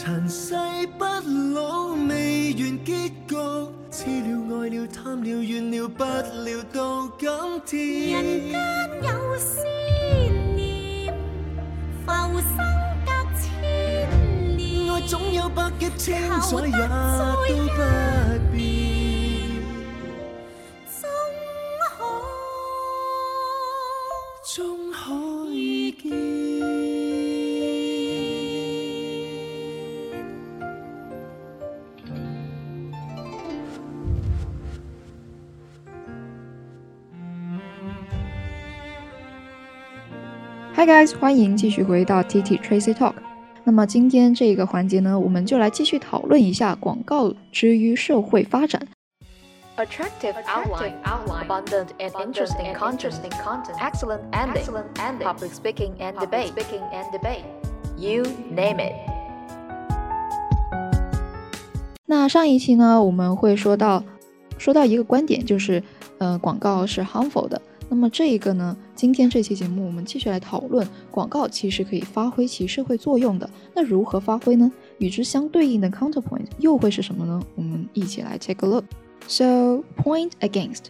塵世不老，未完結局，痴了愛了貪了怨了不了到今天。 人間有思念，浮生隔千年， 愛總有百劫千載也都不變，終可以見。 Hi guys， 欢迎继续回到 TT Tracy Talk。那么今天这个环节呢，我们就来继续讨论一下广告之于社会发展。 Attractive outline, abundant and interesting content, excellent ending, public speaking and debate. You name it. 那上一期呢，我们会说到一个观点，就是广告是 harmful 的。那么这一个呢，今天这期节目我们继续来讨论广告其实可以发挥其社会作用的。那如何发挥呢？与之相对应的 counterpoint 又会是什么呢？我们一起来 take a look. So, point against.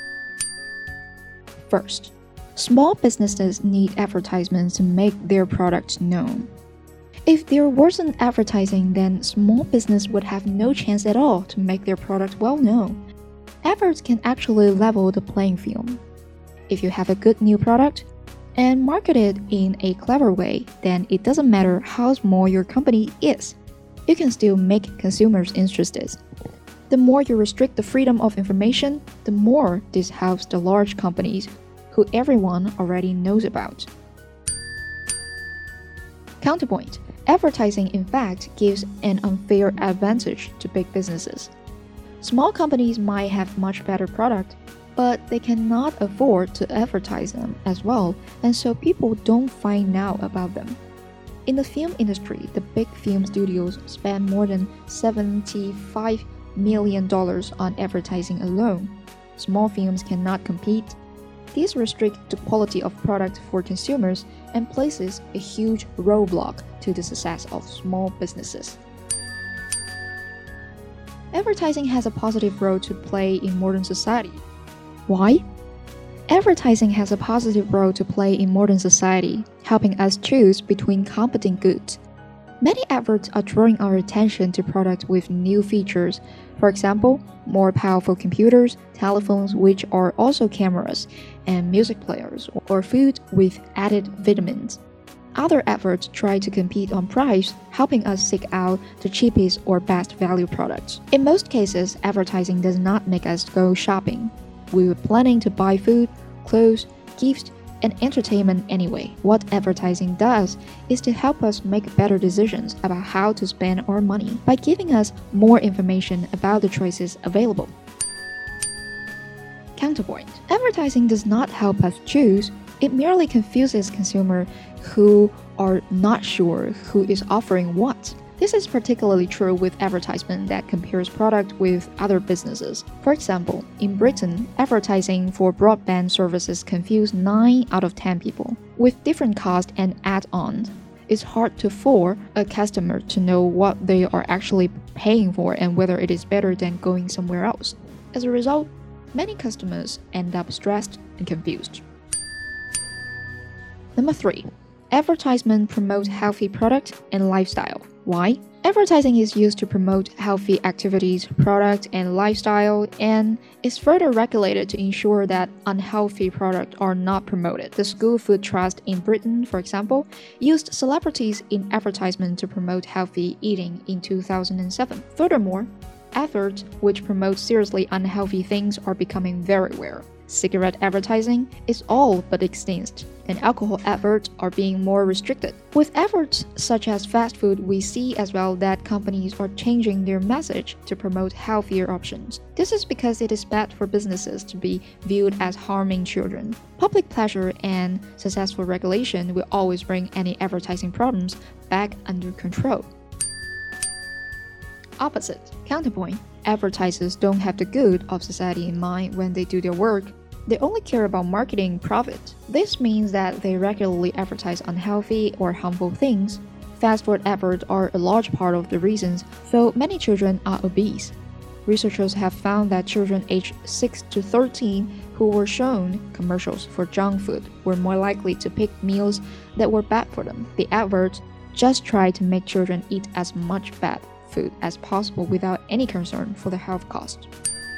First, small businesses need advertisements to make their products known. If there wasn't advertising, then small business would have no chance at all to make their product well known. Efforts can actually level the playing field.If you have a good new product and market it in a clever way, then it doesn't matter how small your company is. You can still make consumers interested. The more you restrict the freedom of information, the more this helps the large companies, who everyone already knows about. Counterpoint. Advertising, in fact, gives an unfair advantage to big businesses. Small companies might have much better product,but they cannot afford to advertise them as well, and so people don't find out about them. In the film industry, the big film studios spend more than $75 million on advertising alone. Small films cannot compete. This restricts the quality of product for consumers and places a huge roadblock to the success of small businesses. Advertising has a positive role to play in modern society.Why? Advertising has a positive role to play in modern society, helping us choose between competing goods. Many adverts are drawing our attention to products with new features. For example, more powerful computers, telephones which are also cameras, and music players, or food with added vitamins. Other adverts try to compete on price, helping us seek out the cheapest or best value products. In most cases, advertising does not make us go shopping.We were planning to buy food, clothes, gifts, and entertainment anyway. What advertising does is to help us make better decisions about how to spend our money by giving us more information about the choices available. Counterpoint. Advertising does not help us choose. It merely confuses consumers who are not sure who is offering what.This is particularly true with advertisement that compares product with other businesses. For example, in Britain, advertising for broadband services confuse 9 out of 10 people. With different costs and add-ons, it's hard for a customer to know what they are actually paying for and whether it is better than going somewhere else. As a result, many customers end up stressed and confused. Number 3. Advertisement promotes healthy product and lifestyle.Why? Advertising is used to promote healthy activities, product, and lifestyle, and is further regulated to ensure that unhealthy products are not promoted. The School Food Trust in Britain, for example, used celebrities in advertisement to promote healthy eating in 2007. Furthermore, adverts which promote seriously unhealthy things are becoming very rare.Cigarette advertising is all but extinct, and alcohol adverts are being more restricted. With adverts such as fast food, we see as well that companies are changing their message to promote healthier options. This is because it is bad for businesses to be viewed as harming children. Public pleasure and successful regulation will always bring any advertising problems back under control. Opposite. Counterpoint. Advertisers don't have the good of society in mind when they do their work.They only care about marketing profit. This means that they regularly advertise unhealthy or harmful things. fast food adverts are a large part of the reasons so many children are obese. Researchers have found that children aged 6 to 13 who were shown commercials for junk food were more likely to pick meals that were bad for them. The adverts just try to make children eat as much bad food as possible without any concern for the health cost.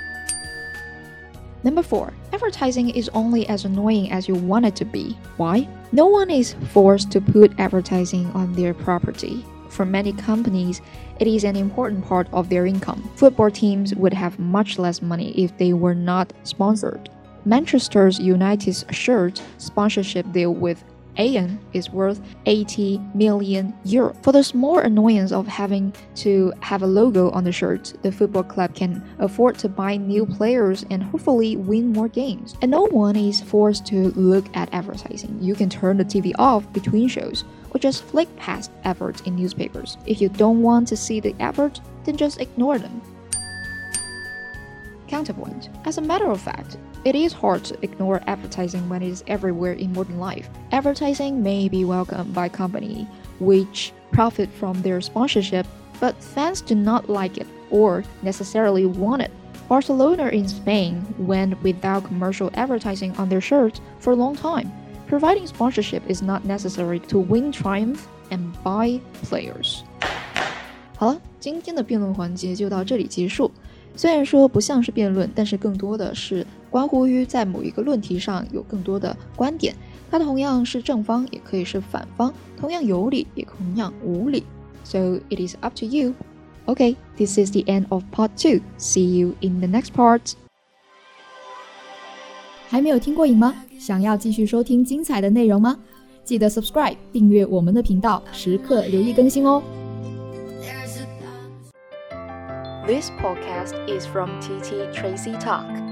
Number 4. Advertising is only as annoying as you want it to be. Why? No one is forced to put advertising on their property. For many companies, it is an important part of their income. Football teams would have much less money if they were not sponsored. Manchester United's shirt sponsorship deal with Aon is worth €80 million. For the small annoyance of having to have a logo on the shirt, the football club can afford to buy new players and hopefully win more games. And no one is forced to look at advertising. You can turn the TV off between shows or just flick past adverts in newspapers. If you don't want to see the advert, then just ignore them. Counterpoint. As a matter of fact, it is hard to ignore advertising when it is everywhere in modern life. Advertising may be welcomed by companies which profit from their sponsorship, but fans do not like it or necessarily want it. Barcelona in Spain went without commercial advertising on their shirts for a long time. Providing sponsorship is not necessary to win triumph and buy players. 好了，今天的辩论环节就到这里结束。虽然说不像是辩论，但是更多的是关乎于在某一个论题上有更多的观点，它同样是正方，也可以是反方，同样有理，也同样无理。So it is up to you. Okay, this is the end of part 2. See you in the next part. 还没有听过瘾吗？想要继续收听精彩的内容吗？记得 subscribe 订阅我们的频道，时刻留意更新哦。 This podcast is from TT Tracy Talk.